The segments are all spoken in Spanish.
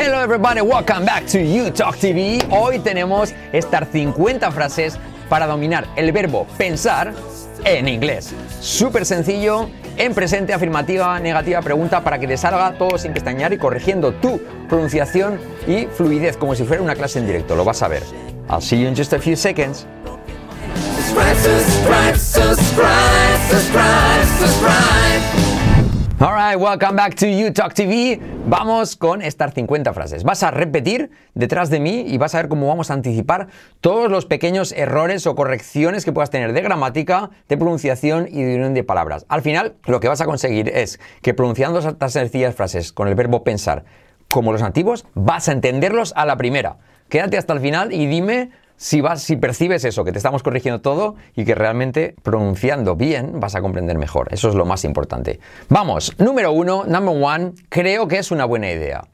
Hello everybody, welcome back to UTalk TV. Hoy tenemos estas 50 frases para dominar el verbo pensar en inglés. Súper sencillo, en presente, afirmativa, negativa, pregunta, para que te salga todo sin pestañear y corrigiendo tu pronunciación y fluidez, como si fuera una clase en directo. Lo vas a ver. I'll see you in just a few seconds. Alright, welcome back to UTalk TV. Vamos con estas 50 frases. Vas a repetir detrás de mí y vas a ver cómo vamos a anticipar todos los pequeños errores o correcciones que puedas tener de gramática, de pronunciación y de unión de palabras. Al final, lo que vas a conseguir es que pronunciando estas sencillas frases con el verbo pensar como los nativos, vas a entenderlos a la primera. Quédate hasta el final y dime si percibes eso, que te estamos corrigiendo todo y que realmente pronunciando bien vas a comprender mejor. Eso es lo más importante. Vamos, number one, creo que es una buena idea.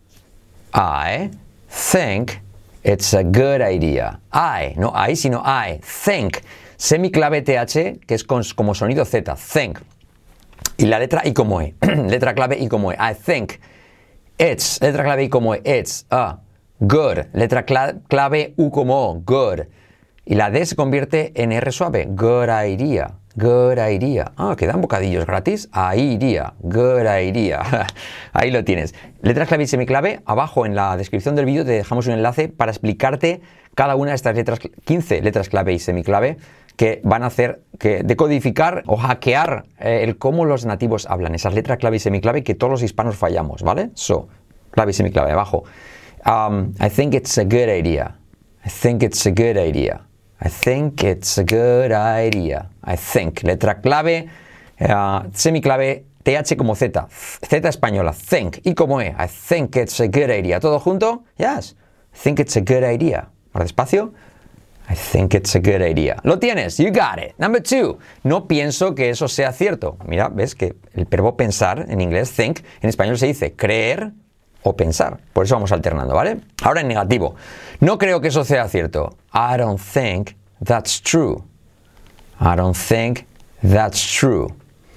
I think it's a good idea. No I, sino I think. Semiclave TH, que es como sonido Z, think. Y la letra I como E. Letra clave I como E. I think it's. Letra clave I como E. It's a good. Letra clave U como O. Good. Y la D se convierte en R suave. Good idea. Good idea. Quedan bocadillos gratis. Ahí iría. Good idea. Ahí lo tienes. Letras clave y semiclave. Abajo en la descripción del vídeo te dejamos un enlace para explicarte cada una de estas letras, 15 letras clave y semiclave, que van a hacer que decodificar o hackear el cómo los nativos hablan. Esas letras clave y semiclave que todos los hispanos fallamos, ¿vale? Clave y semiclave abajo. I think it's a good idea. I think it's a good idea. I think it's a good idea. I think. Letra clave, semiclave, TH como Z. Z española. Think. Y como E. I think it's a good idea. ¿Todo junto? Yes. I think it's a good idea. Más despacio. I think it's a good idea. Lo tienes. You got it. Number two. No pienso que eso sea cierto. Mira, ves que el verbo pensar en inglés, think, en español se dice creer o pensar. Por eso vamos alternando, ¿vale? Ahora en negativo. No creo que eso sea cierto. I don't think that's true. I don't think that's true.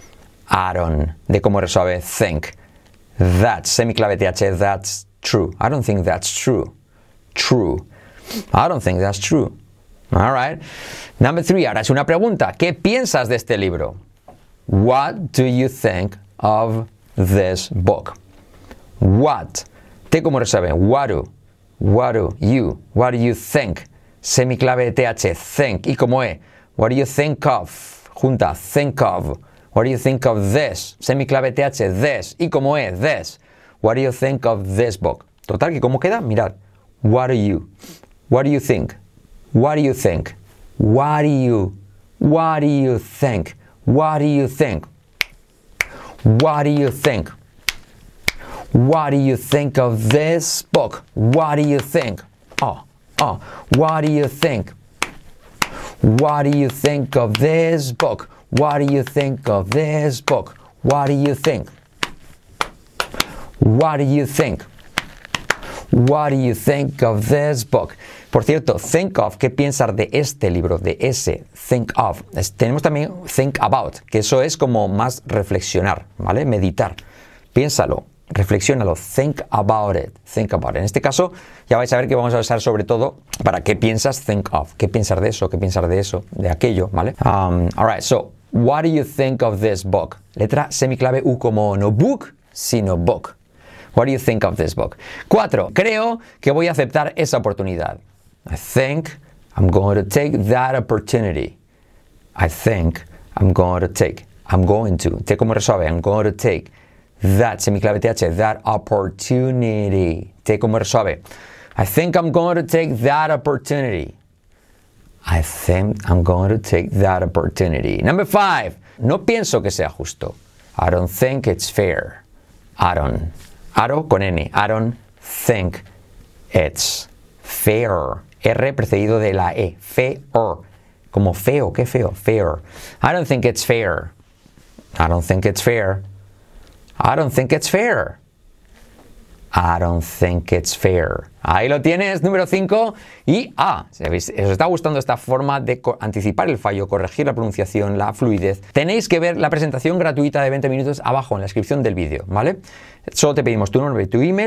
I don't. De como resuelve think. That's. Semiclave TH. That's true. I don't think that's true. True. I don't think that's true. All right. Number three. Ahora es una pregunta. ¿Qué piensas de este libro? What do you think of this book? What. T como resuelve. What do you think? Semiclave TH. Think. Y como E. What do you think of? Junta. Think of. What do you think of this? Semiclave TH. This. Y como E. This. What do you think of this book? Total, que ¿cómo queda? Mirad. What do you think? What do you think? What do you think? What do you think? What do you think? What do you think of this book? What do you think? What do you think? What do you think of this book? What do you think of this book? What do you think? What do you think? What do you think of this book? Por cierto, think of, ¿qué piensas de este libro? De ese, think of. Tenemos también think about, que eso es como más reflexionar, ¿vale? Meditar. Piénsalo, reflexiónalo, think about it, think about it. En este caso, ya vais a ver que vamos a usar sobre todo para qué piensas, think of. ¿Qué piensas de eso? ¿Qué piensas de eso? De aquello, ¿vale? Alright, so, what do you think of this book? Letra semiclave U como no book, sino book. What do you think of this book? 4. Creo que voy a aceptar esa oportunidad. I think I'm going to take that opportunity. I think I'm going to take. I'm going to. T como resuelve. I'm going to take that. Semiclave TH. That opportunity. T como resuelve. I think I'm going to take that opportunity. I think I'm going to take that opportunity. Number 5. No pienso que sea justo. I don't think it's fair. Aro con N. I don't think it's fair. R precedido de la E. Fair. Como feo. ¿Qué feo? Fair. I don't think it's fair. I don't think it's fair. I don't think it's fair. I don't think it's fair. Ahí lo tienes, número 5. Y si os está gustando esta forma de anticipar el fallo, corregir la pronunciación, la fluidez, tenéis que ver la presentación gratuita de 20 minutos abajo en la descripción del vídeo, ¿vale? Solo te pedimos tu nombre y tu email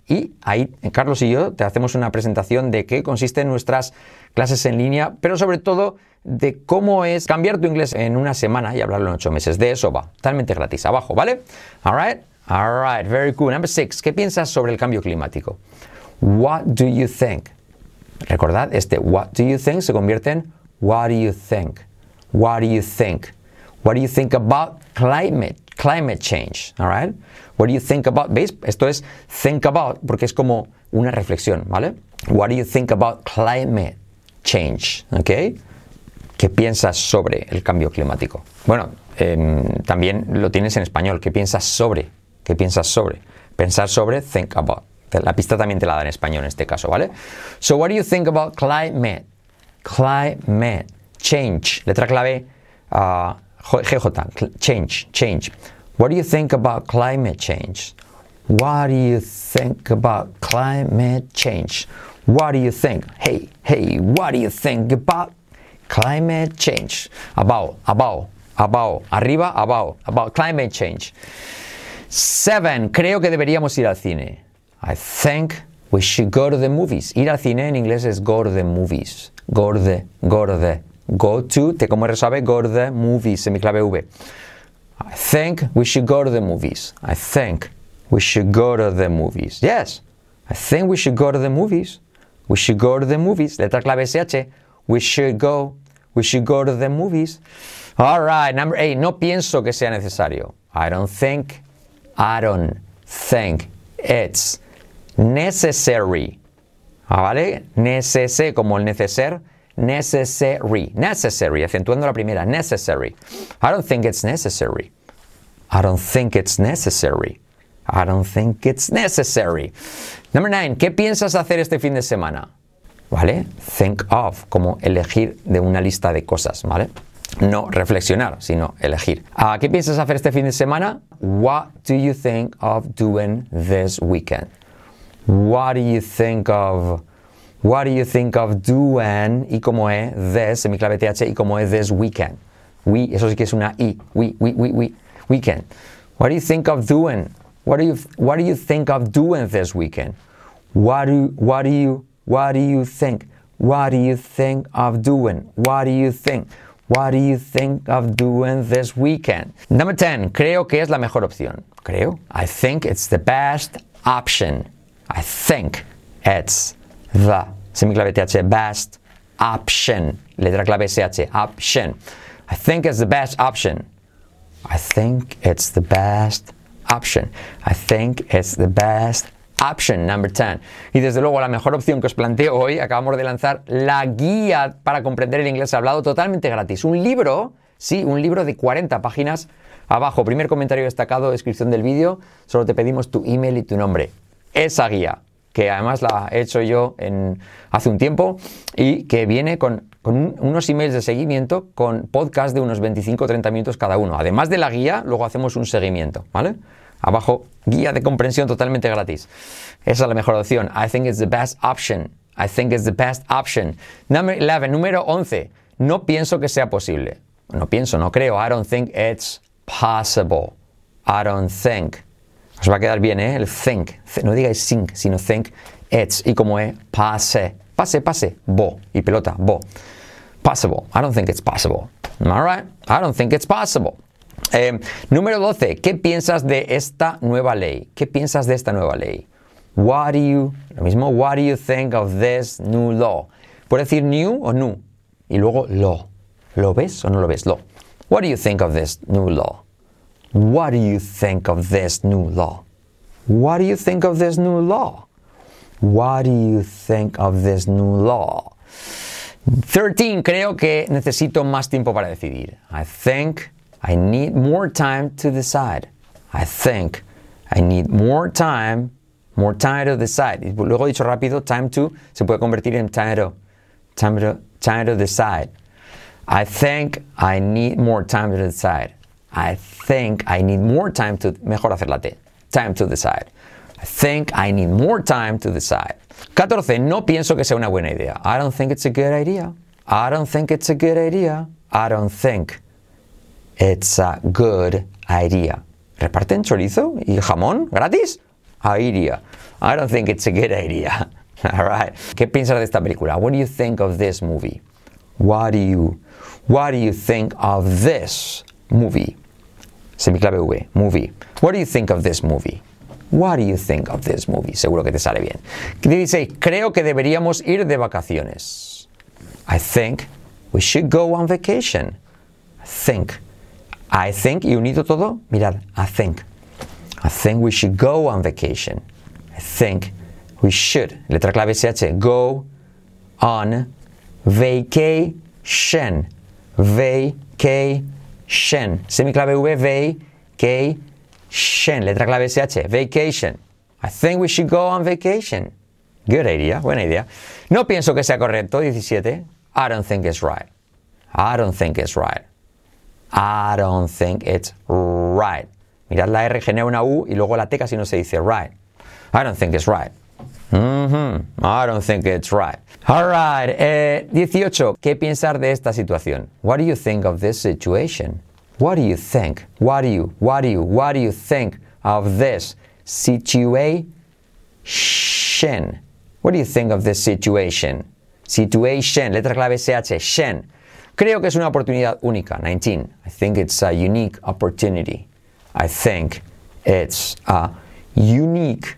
Y ahí Carlos y yo te hacemos una presentación de qué consisten nuestras clases en línea, pero sobre todo de cómo es cambiar tu inglés en una semana y hablarlo en 8 meses. De eso va, totalmente gratis, abajo, ¿vale? All right, very cool. Number 6, ¿qué piensas sobre el cambio climático? What do you think? Recordad, what do you think se convierte en what do you think? What do you think? What do you think about climate change? All right? What do you think about? ¿Veis? Esto es think about porque es como una reflexión, ¿vale? What do you think about climate change? ¿Ok? ¿Qué piensas sobre el cambio climático? Bueno, también lo tienes en español. ¿Qué piensas sobre? ¿Qué piensas sobre? Pensar sobre, think about. La pista también te la da en español en este caso, ¿vale? So, what do you think about climate? Climate change. Letra clave GJ. Change. What do you think about climate change? What do you think about climate change? What do you think? Hey, what do you think about climate change? About. Arriba, about climate change. 7. Creo que deberíamos ir al cine. I think we should go to the movies. Ir al cine en inglés es go to the movies. Go to, te como sabe, go to the movies, semiclave V. I think we should go to the movies. I think we should go to the movies. Yes, I think we should go to the movies. We should go to the movies. Letra clave SH. We should go to the movies. All right, number 8. No pienso que sea necesario. I don't think it's necessary. ¿Vale? Como el neceser. Necessary, acentuando la primera. Necessary. I don't think it's necessary. Number 9. ¿Qué piensas hacer este fin de semana? ¿Vale? Think of, como elegir de una lista de cosas, ¿vale? No reflexionar, sino elegir. ¿Qué piensas hacer este fin de semana? What do you think of doing this weekend? What do you think of doing, y como es this, semiclave TH, y como es this weekend? Eso sí que es una I. Weekend. What do you think of doing? What do you think of doing this weekend? What do you think? What do you think of doing? What do you think? What do you think of doing this weekend? Number 10. Creo que es la mejor opción. Creo. I think it's the best option. I think it's the, semiclave TH, best option. Letra clave SH, option. I think it's the best option. I think it's the best option. I think it's the best option. Number 10. Y desde luego la mejor opción que os planteo hoy, acabamos de lanzar la guía para comprender el inglés hablado totalmente gratis. Un libro de 40 páginas. Abajo, primer comentario destacado, descripción del vídeo. Solo te pedimos tu email y tu nombre. Esa guía, que además la he hecho yo hace un tiempo y que viene con unos emails de seguimiento con podcast de unos 25 o 30 minutos cada uno. Además de la guía, luego hacemos un seguimiento, ¿vale? Abajo, guía de comprensión totalmente gratis. Esa es la mejor opción. I think it's the best option. I think it's the best option. Number 11, número 11. No pienso que sea posible. No creo. I don't think it's possible. I don't think. Os va a quedar bien, ¿eh? El think. No digáis think, sino think it's. Y como es, pase. Bo. Y pelota, bo. Possible. I don't think it's possible. All right? I don't think it's possible. Número 12. ¿Qué piensas de esta nueva ley? What do you think of this new law? Puedes decir new o new. Y luego law. ¿Lo ves o no lo ves? Law. What do you think of this new law? What do you think of this new law? What do you think of this new law? What do you think of this new law? 13. Creo que necesito más tiempo para decidir. I think I need more time to decide. I think I need more time to decide. Y luego dicho rápido, time to se puede convertir en time to decide. I think I need more time to decide. I think I need more time to, mejor hacer la T, time to decide. I think I need more time to decide. 14. No pienso que sea una buena idea. I don't think it's a good idea. I don't think it's a good idea. I don't think it's a good idea. ¿Reparten chorizo y jamón gratis? Idea. I don't think it's a good idea. All right. ¿Qué piensas de esta película? What do you think of this movie? What do you think of this movie? Semiclave V, movie. What do you think of this movie? What do you think of this movie? Seguro que te sale bien. 16. Creo que deberíamos ir de vacaciones. I think we should go on vacation. I think, y unido todo, mirad, I think we should go on vacation. I think we should, letra clave SH, go on vacation. Vacation. Semiclave V, vacation. Letra clave SH, vacation. I think we should go on vacation. Good idea, buena idea. No pienso que sea correcto, 17. I don't think it's right. I don't think it's right. I don't think it's right. Mirad, la R genera una U y luego la T casi no se dice right. I don't think it's right. I don't think it's right. All right. 18. ¿Qué piensas de esta situación? What do you think of this situation? What do you think? What do you think of this situation? What do you think of this situation? Situation, letra clave SH, shen. Creo que es una oportunidad única. 19. I think it's a unique opportunity. I think it's a unique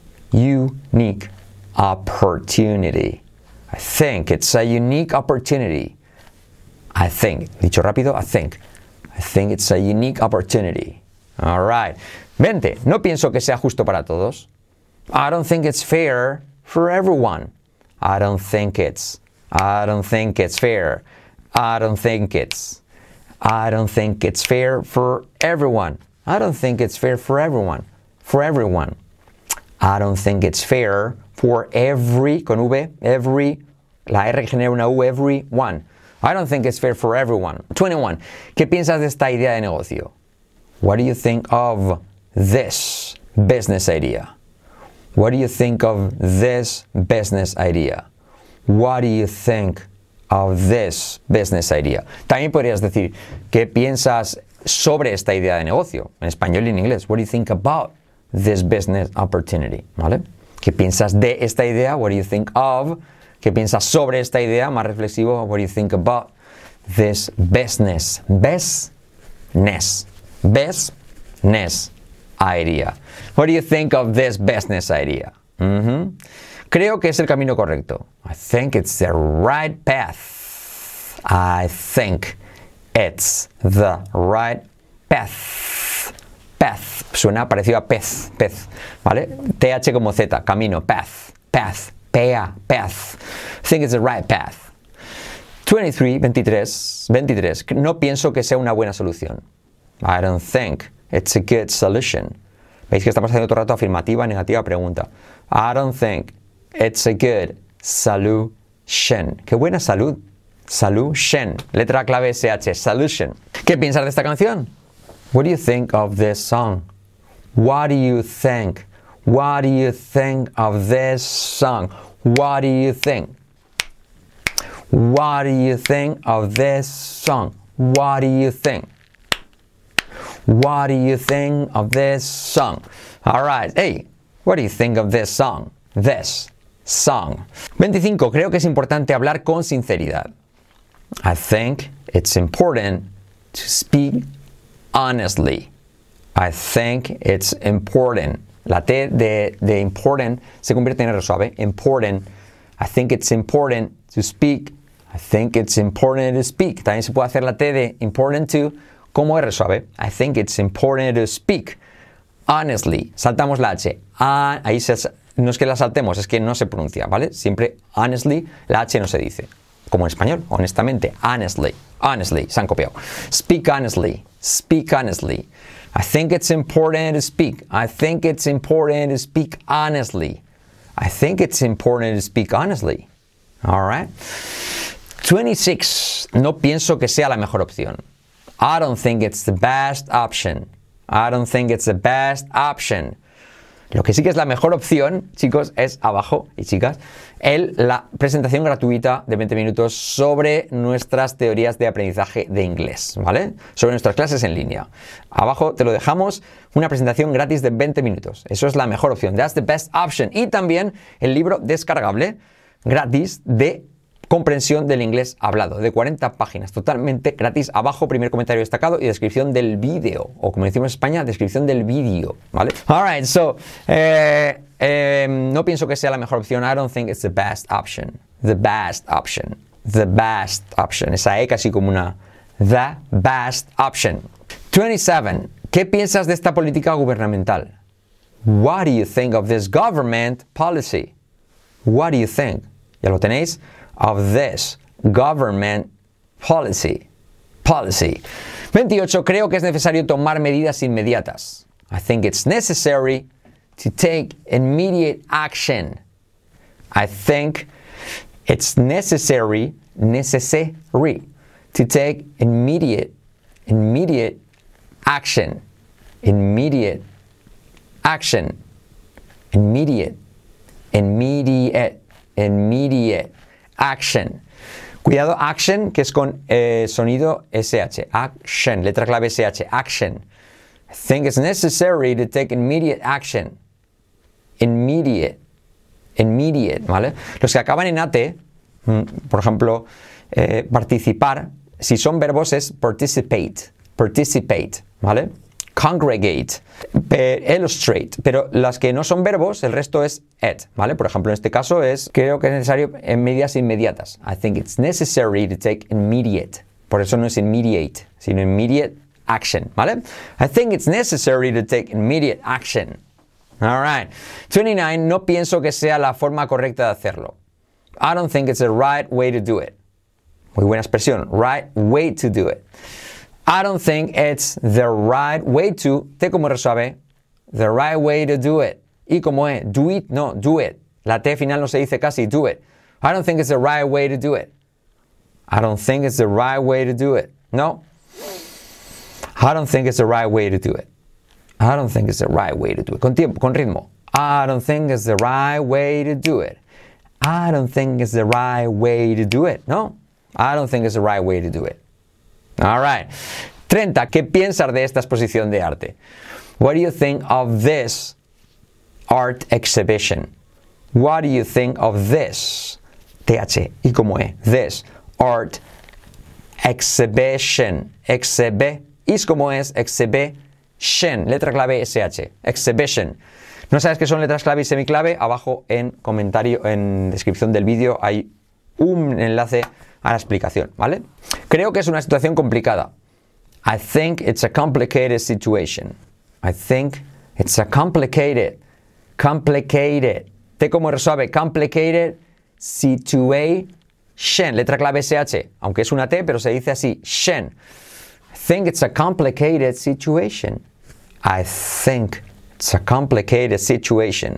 opportunity. I think it's a unique opportunity. I think, dicho rápido, I think it's a unique opportunity. All right. 20. No pienso que sea justo para todos. I don't think it's fair for everyone. I don't think it's fair. I don't think it's fair for everyone. I don't think it's fair for everyone. I don't think it's fair for every, con V, every, la R genera una U, everyone. I don't think it's fair for everyone. 21. ¿Qué piensas de esta idea de negocio? What do you think of this business idea? What do you think of this business idea? What do you think of this business idea? También podrías decir, ¿qué piensas sobre esta idea de negocio? En español y en inglés. What do you think about this business opportunity? ¿Vale? ¿Qué piensas de esta idea? What do you think of? ¿Qué piensas sobre esta idea? Más reflexivo. What do you think about this business idea? What do you think of this business idea? Creo que es el camino correcto. I think it's the right path. I think it's the right path. Path. Suena parecido a pez. ¿Vale? TH como Z. Camino. Path. Path. Path. I think it's the right path. 23. No pienso que sea una buena solución. I don't think it's a good solution. Veis que estamos haciendo todo el rato afirmativa, negativa, pregunta. I don't think it's a good solution. ¡Qué buena salud! Solution. Letra clave SH. Solution. ¿Qué piensas de esta canción? What do you think of this song? What do you think? What do you think of this song? What do you think? What do you think of this song? What do you think? What do you think of this song? All right. Hey, what do you think of this song? This song. 25. Creo que es importante hablar con sinceridad. I think it's important to speak honestly. I think it's important. La T de important se convierte en R suave. Important. I think it's important to speak. I think it's important to speak. También se puede hacer la T de important to como R suave. I think it's important to speak honestly. Saltamos la H. Ahí no es que la saltemos, es que no se pronuncia, ¿vale? Siempre honestly, la H no se dice. Como en español, honestamente. Honestly. Se han copiado. Speak honestly. I think it's important to speak. I think it's important to speak honestly. I think it's important to speak honestly. All right. 26. No pienso que sea la mejor opción. I don't think it's the best option. I don't think it's the best option. Lo que sí que es la mejor opción, chicos, es abajo, y chicas, la presentación gratuita de 20 minutos sobre nuestras teorías de aprendizaje de inglés, ¿vale? Sobre nuestras clases en línea. Abajo te lo dejamos, una presentación gratis de 20 minutos. Eso es la mejor opción. That's the best option. Y también el libro descargable gratis de comprensión del inglés hablado, de 40 páginas, totalmente gratis. Abajo, primer comentario destacado y descripción del vídeo, o como decimos en España, descripción del vídeo, ¿vale? Alright, so, no pienso que sea la mejor opción. I don't think it's the best option. The best option. The best option. Esa E casi como una the best option. 27. ¿Qué piensas de esta política gubernamental? What do you think of this government policy? What do you think? ¿Ya lo tenéis? Of this government policy. 28. Creo que es necesario tomar medidas inmediatas. I think it's necessary to take immediate action. I think it's necessary to take immediate action. Immediate action. Cuidado, action, que es con sonido SH. Action, letra clave SH. Action. I think it's necessary to take immediate action. Immediate, ¿vale? Los que acaban en AT, por ejemplo, participar, si son verbos es participate, ¿vale? Congregate, illustrate, pero las que no son verbos, el resto es it, ¿vale? Por ejemplo, en este caso creo que es necesario en medidas inmediatas. I think it's necessary to take immediate. Por eso no es immediate, sino immediate action, ¿vale? I think it's necessary to take immediate action. All right. 29. No pienso que sea la forma correcta de hacerlo. I don't think it's the right way to do it. Muy buena expresión. Right way to do it. I don't think it's the right way to, T como resuave, the right way to do it. Y como es, do it, no, do it. La T final no se dice casi, do it. I don't think it's the right way to do it. I don't think it's the right way to do it. No. I don't think it's the right way to do it. I don't think it's the right way to do it. Con tiempo, con ritmo. I don't think it's the right way to do it. I don't think it's the right way to do it. No. I don't think it's the right way to do it. All right. 30. ¿Qué piensas de esta exposición de arte? What do you think of this art exhibition? What do you think of this? TH. ¿Y cómo es? This art exhibition. ¿Y cómo es? Exhibition. Letra clave SH. Exhibition. ¿No sabes qué son letras clave y semiclave? Abajo en comentario, en descripción del vídeo hay un enlace a la explicación, ¿vale? Creo que es una situación complicada. I think it's a complicated situation. I think it's a complicated. T como resuave, complicated situation. Letra clave SH, aunque es una T, pero se dice así, shen. I think it's a complicated situation. I think it's a complicated situation.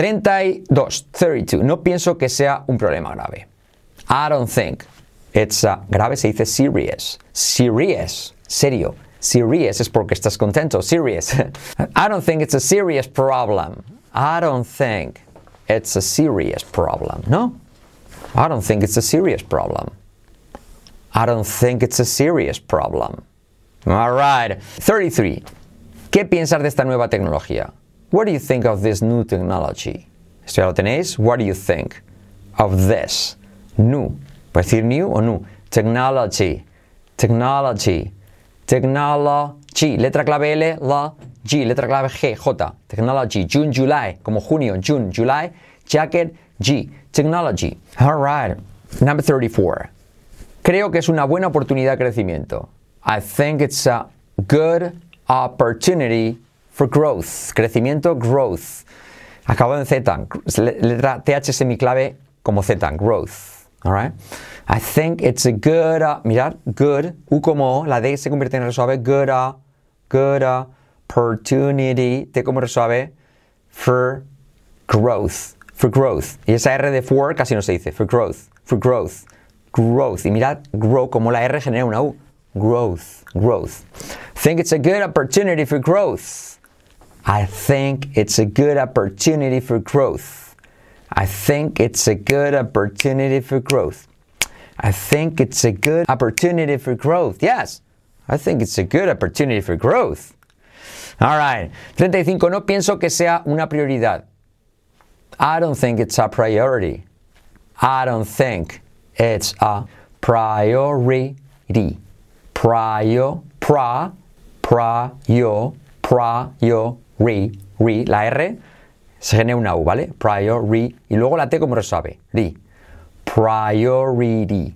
32. No pienso que sea un problema grave. I don't think it's grave se dice serious. Serious, serio. Serious es porque estás contento. Serious. I don't think it's a serious problem. I don't think it's a serious problem. No. I don't think it's a serious problem. I don't think it's a serious problem. All right. 33. ¿Qué piensas de esta nueva tecnología? What do you think of this new technology? ¿Esto ya lo tenéis? What do you think of this new? ¿Puedes decir new o new? Technology. Letra clave L, la, G. Letra clave G, J. Technology. June, July. Como junio. June, July. Jacket, G. Technology. All right. Number 34. Creo que es una buena oportunidad de crecimiento. I think it's a good opportunity for growth. Crecimiento, growth. Acabado en Z. Letra TH semiclave como Z. Growth. All right. I think it's a good, mirad, good, U como O, la D se convierte en resuave, good opportunity, T como resuave, for growth. Y esa R de for casi no se dice, for growth. Y mirad, grow, como la R genera una U, growth. Think it's a good opportunity for growth. I think it's a good opportunity for growth. I think it's a good opportunity for growth. I think it's a good opportunity for growth. Yes, I think it's a good opportunity for growth. All right. 35. No pienso que sea una prioridad. I don't think it's a priority. I don't think it's a priority. La R se genera una U, ¿vale? Priority. Y luego la T como resuave. Priority.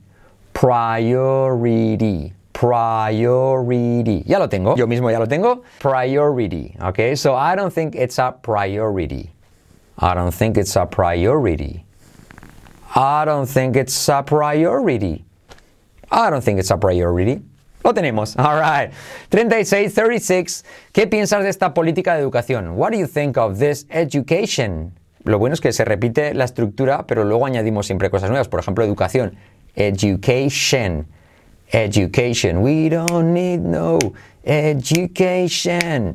Ya lo tengo. Yo mismo ya lo tengo. Priority. Okay, so I don't think it's a priority. I don't think it's a priority. I don't think it's a priority. I don't think it's a priority. Lo tenemos. All right. 36. ¿Qué piensas de esta política de educación? What do you think of this education? Lo bueno es que se repite la estructura, pero luego añadimos siempre cosas nuevas. Por ejemplo, educación. Education. We don't need no education.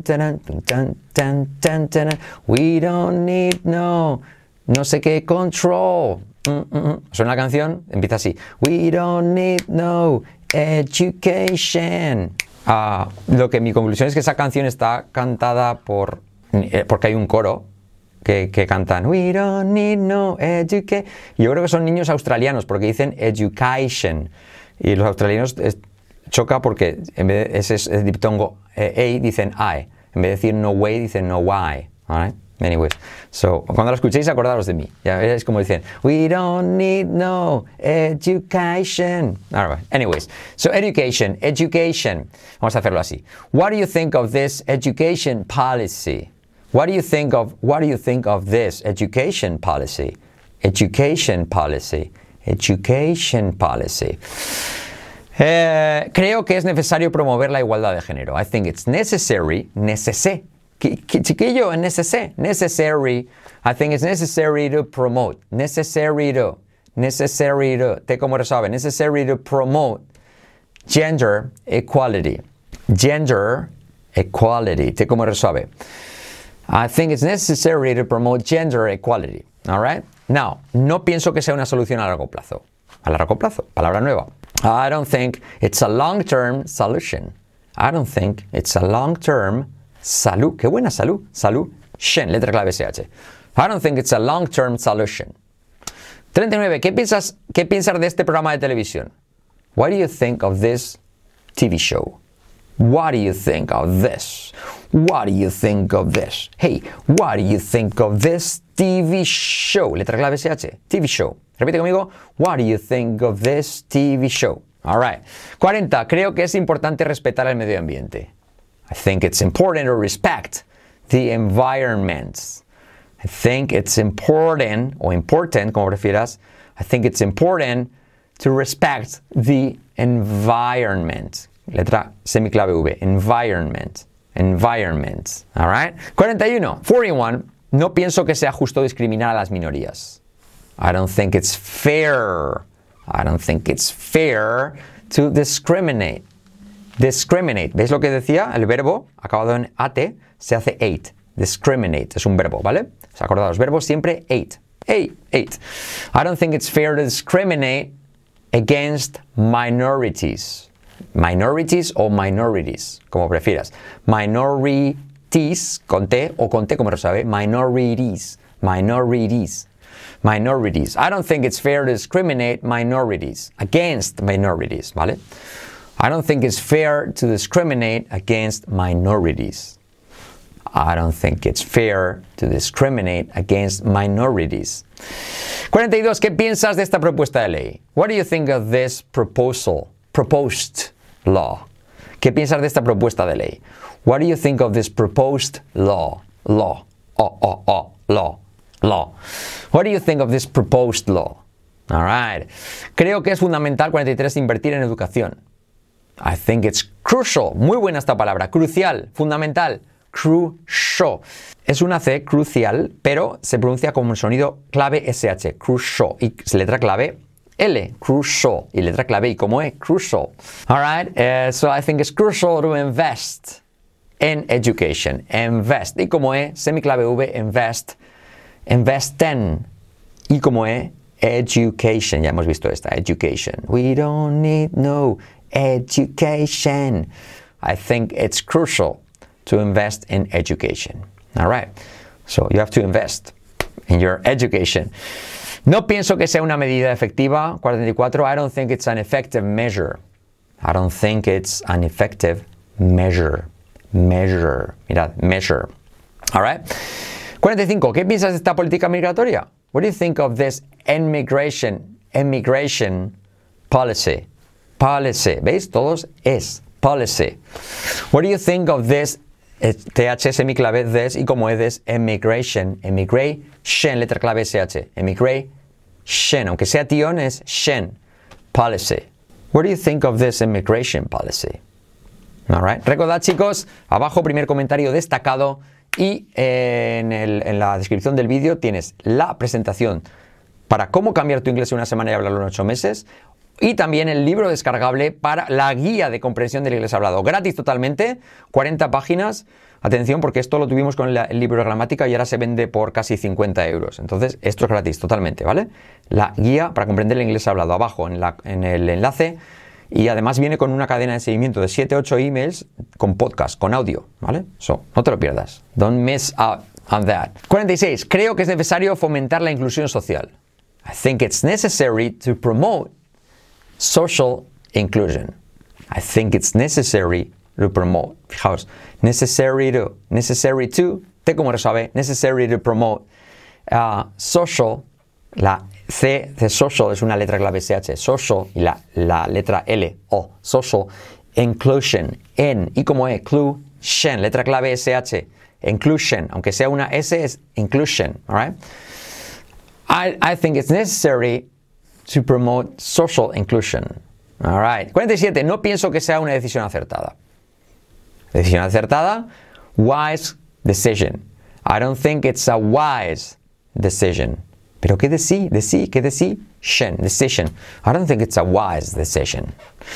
We don't need no sé qué control. Suena la canción, empieza así. We don't need no education. Mi conclusión es que esa canción está cantada porque hay un coro que cantan We don't need no education. Yo creo que son niños australianos porque dicen education. Y los australianos choca porque en vez de ese diptongo dicen I. En vez de decir no way, dicen no why. All right? Anyways, so cuando lo escuchéis acordaros de mí. Ya es como dicen, we don't need no education. All right. Anyways, so education. Vamos a hacerlo así. What do you think of this education policy? What do you think of this education policy? Education policy. Creo que es necesario promover la igualdad de género. I think it's necessary. Chiquillo, necessary. I think it's necessary to promote. Necessary to. Te como resuelve. Necessary to promote gender equality. Te como resuelve. I think it's necessary to promote gender equality. All right? Now, no pienso que sea una solución a largo plazo. A largo plazo, palabra nueva. I don't think it's a long-term solution. I don't think it's a long-term salud. Qué buena salud. Shen, letra clave SH. I don't think it's a long-term solution. 39. ¿Qué piensas de este programa de televisión? What do you think of this TV show? What do you think of this? What do you think of this? Hey, what do you think of this TV show? Letra clave SH. TV show. Repite conmigo. What do you think of this TV show? All right. 40. Creo que es importante respetar el medio ambiente. I think it's important to respect the environment. I think it's important, o important, como prefieras. I think it's important to respect the environment. Letra semiclave V. Environment. All right. 41. No pienso que sea justo discriminar a las minorías. I don't think it's fair. To discriminate. ¿Veis lo que decía? El verbo acabado en ate se hace ate. Discriminate es un verbo, ¿vale? ¿Os acordáis? Los verbos siempre ate. I don't think it's fair to discriminate against minorities. Minorities o minorities, como prefieras. Minorities, con T o con T, como lo sabe. Minorities. I don't think it's fair to discriminate against minorities, ¿vale? I don't think it's fair to discriminate against minorities. 42. ¿Qué piensas de esta propuesta de ley? What do you think of this proposed law? ¿Qué piensas de esta propuesta de ley? What do you think of this proposed law? Law. What do you think of this proposed law? All right. Creo que es fundamental, 43, invertir en educación. I think it's crucial. Muy buena esta palabra. Crucial, fundamental. Crucial. Es una C, crucial, pero se pronuncia como un sonido clave SH. Crucial. Y letra clave L. Crucial. Y letra clave I como E. Crucial. All right. So I think it's crucial to invest in education. Invest. Y como E, semiclave V, invest. Investen. Y como E, education. Ya hemos visto esta, education. We don't need no education. I think it's crucial to invest in education. All right. So you have to invest in your education. No pienso que sea una medida efectiva. 44. I don't think it's an effective measure. I don't think it's an effective measure. Measure. Mirad, measure. All right. 45. ¿Qué piensas de esta política migratoria? What do you think of this immigration policy? Policy. ¿Veis? Todos es. Policy. What do you think of this? TH semiclave this y como es this immigration. Immigration, letra clave SH. Immigration. Aunque sea tion es shen. Policy. What do you think of this immigration policy? All right. Recordad, chicos, abajo primer comentario destacado y en la descripción del vídeo tienes la presentación para cómo cambiar tu inglés en una semana y hablarlo en 8 meses y también el libro descargable para la guía de comprensión del inglés hablado. Gratis totalmente, 40 páginas. Atención, porque esto lo tuvimos con el libro de gramática y ahora se vende por casi 50 euros. Entonces, esto es gratis totalmente, ¿vale? La guía para comprender el inglés hablado abajo en el enlace. Y además viene con una cadena de seguimiento de 7-8 emails con podcast, con audio, ¿vale? No te lo pierdas. Don't miss out on that. 46. Creo que es necesario fomentar la inclusión social. I think it's necessary to promote social inclusion. I think it's necessary to promote. Fijaos, necessary to, T como resuave, necessary to promote social, la C de social es una letra clave SH, social, y la letra L, O, social, inclusion, N, y como inclusion, letra clave SH, inclusion, aunque sea una S es inclusion, all right? I think it's necessary to promote social inclusion. All right. 47. No pienso que sea una decisión acertada. Decisión acertada, wise decision. I don't think it's a wise decision. ¿Pero qué decision? Decision. I don't think it's a wise decision.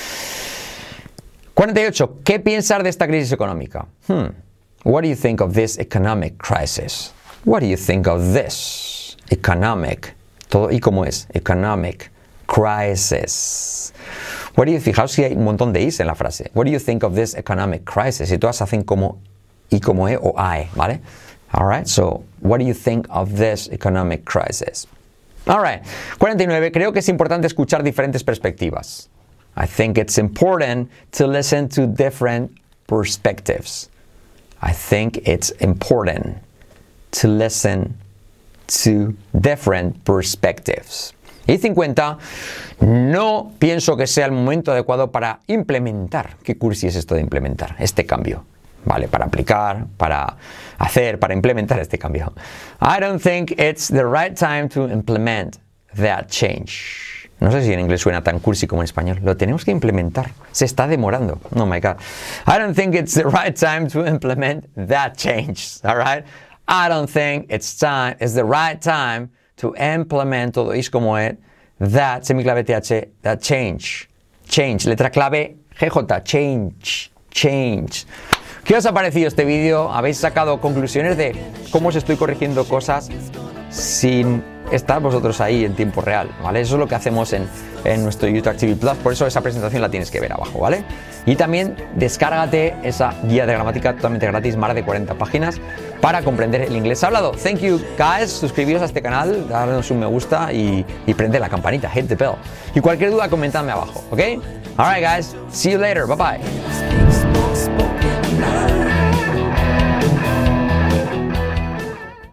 48. ¿Qué piensas de esta crisis económica? What do you think of this economic crisis? What do you think of this economic? Todo y como es. Economic crisis. What do you think? Fijaos si hay un montón de is en la frase. What do you think of this economic crisis? Y todas hacen como y como e o I, ¿vale? All right, so what do you think of this economic crisis? All right, 49. Creo que es importante escuchar diferentes perspectivas. I think it's important to listen to different perspectives. I think it's important to listen to different perspectives. Y 50. No pienso que sea el momento adecuado para implementar. ¿Qué cursi es esto de implementar? Este cambio. Vale, para aplicar, para hacer, para implementar este cambio. I don't think it's the right time to implement that change. No sé si en inglés suena tan cursi como en español. Lo tenemos que implementar. Se está demorando. Oh my God. I don't think it's the right time to implement that change. All right? I don't think it's the right time to implement, todo es como es, that, semiclave TH, that change. Change, letra clave GJ, change. ¿Qué os ha parecido este vídeo? ¿Habéis sacado conclusiones de cómo os estoy corrigiendo cosas sin estar vosotros ahí en tiempo real? ¿Vale? Eso es lo que hacemos en nuestro YouTube TV Plus, por eso esa presentación la tienes que ver abajo, ¿vale? Y también descárgate esa guía de gramática totalmente gratis, más de 40 páginas, para comprender el inglés hablado. Thank you, guys. Suscribíos a este canal, darnos un me gusta y prende la campanita, hit the bell. Y cualquier duda, comentadme abajo, ¿ok? Alright, guys. See you later. Bye bye.